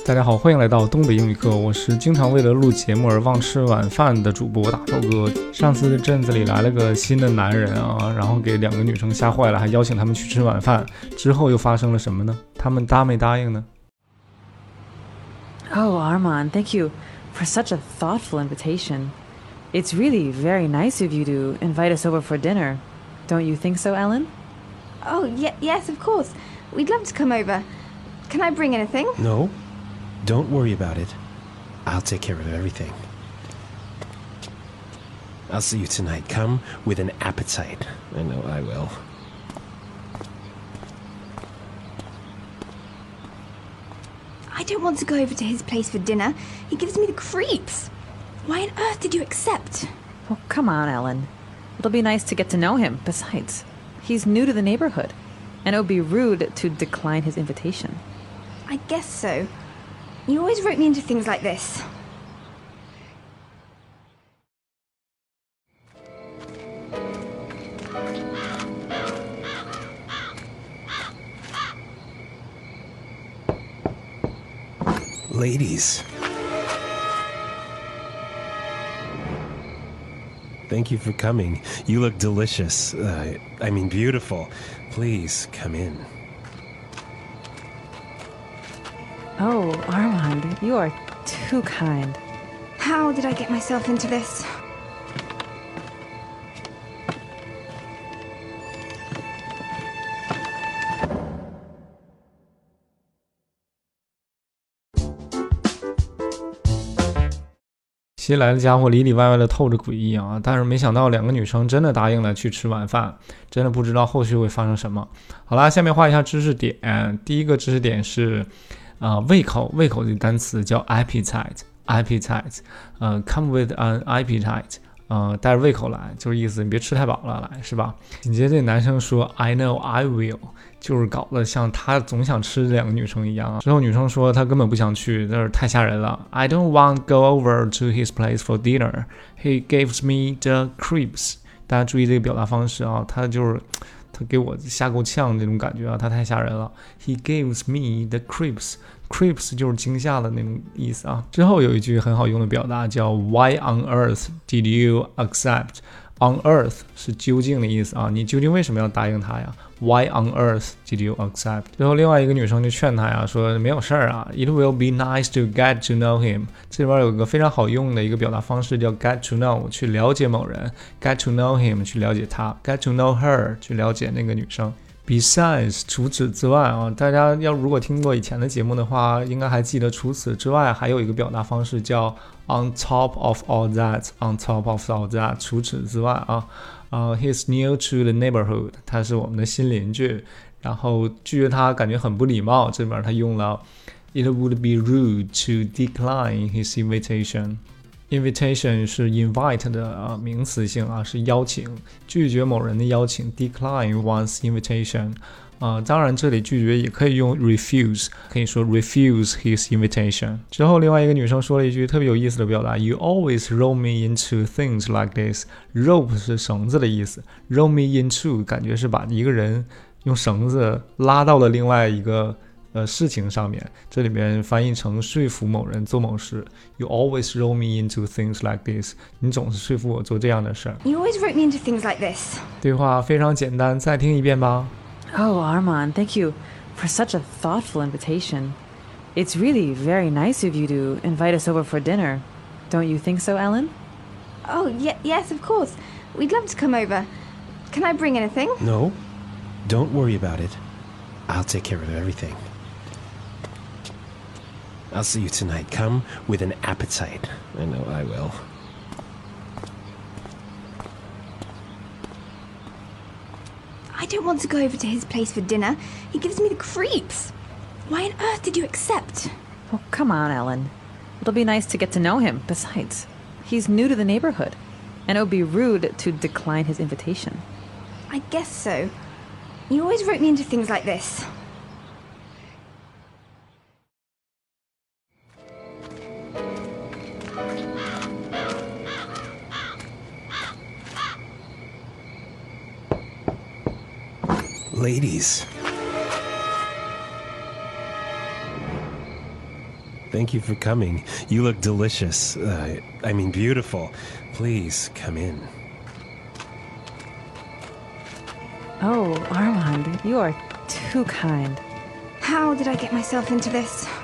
大家好，欢迎来到东北英语课，我是经常为了录节目而忘吃晚饭的主播大头哥。上次镇子里来了个新的男人啊，然后给2个女生吓坏了，还邀请他们去吃晚饭，之后又发生了什么呢？他们答没答应呢？ Oh, Armand, thank you for such a thoughtful invitation. It's really very nice of you to invite us over for dinner. Don't you think so, Ellen? Oh, yes, of course. We'd love to come over. Can I bring anything? No, don't worry about it. I'll take care of everything. I'll see you tonight. Come with an appetite. I know I will. I don't want to go over to his place for dinner. He gives me the creeps. Why on earth did you accept? Oh, come on, Ellen. It'll be nice to get to know him. Besides, he's new to the neighborhood, and it would be rude to decline his invitation. I guess so. You always rope me into things like this. Ladies. Thank you for coming. You look delicious. I mean beautiful. Please come in. Oh, Armand, you are too kind. How did I get myself into this? 《新来的家伙里里外外的透着诡异啊，但是没想到2个女生真的答应了去吃晚饭，真的不知道后续会发生什么。好啦，下面画一下知识点。第一个知识点是胃口的单词叫 appetite，come with an appetite，带着胃口来，就是意思你别吃太饱了，来是吧？紧接着男生说 I know I will， 就是搞得像他总想吃这2个女生一样啊。之后女生说她根本不想去，但是太吓人了。I don't want to go over to his place for dinner. He gives me the creeps。大家注意这个表达方式啊，他给我吓够呛那种感觉啊，他太吓人了。He gives me the creeps。Creeps 就是惊吓的那种意思啊。之后有一句很好用的表达叫 Why on earth did you accept？ On earth 是究竟的意思啊，你究竟为什么要答应他呀？ Why on earth did you accept？ 之后另外一个女生就劝他呀，说没有事儿啊 It will be nice to get to know him。 这里边有个非常好用的一个表达方式叫 get to know， 去了解某人， get to know him 去了解他， get to know her 去了解那个女生。Besides， 除此之外啊，大家如果听过以前的节目的话，应该还记得除此之外还有一个表达方式叫 on top of all that，on top of all that， 除此之外啊，he's new to the neighborhood， 他是我们的新邻居，然后拒绝他感觉很不礼貌，这边他用了 it would be rude to decline his invitation。Invitation 是 invite 的名词性啊，是邀请，拒绝某人的邀请 decline one's invitation。当然这里拒绝也可以用 refuse， 可以说 refuse his invitation。之后另外一个女生说了一句特别有意思的表达 You always roll me into things like this。 Rope 是绳子的意思， roll me into 感觉是把一个人用绳子拉到了另外一个事情上面，这里面翻译成说服某人做某事。 You always roll me into things like this， 你总是说服我做这样的事儿。 You always rope me into things like this. 对话非常简单，再听一遍吧。 Oh, Armand, thank you for such a thoughtful invitation. It's really very nice of you to invite us over for dinner. Don't you think so, Ellen? Oh, yes, of course. We'd love to come over. Can I bring anything? No, don't worry about it. I'll take care of everything. I'll see you tonight. Come with an appetite. I know I will. I don't want to go over to his place for dinner. He gives me the creeps. Why on earth did you accept? Oh, come on, Ellen. It'll be nice to get to know him. Besides, he's new to the neighborhood, and it would be rude to decline his invitation. I guess so. You always rope me into things like this. Ladies. Thank you for coming. You look delicious. I mean, beautiful. Please come in. Oh, Armand, you are too kind. How did I get myself into this?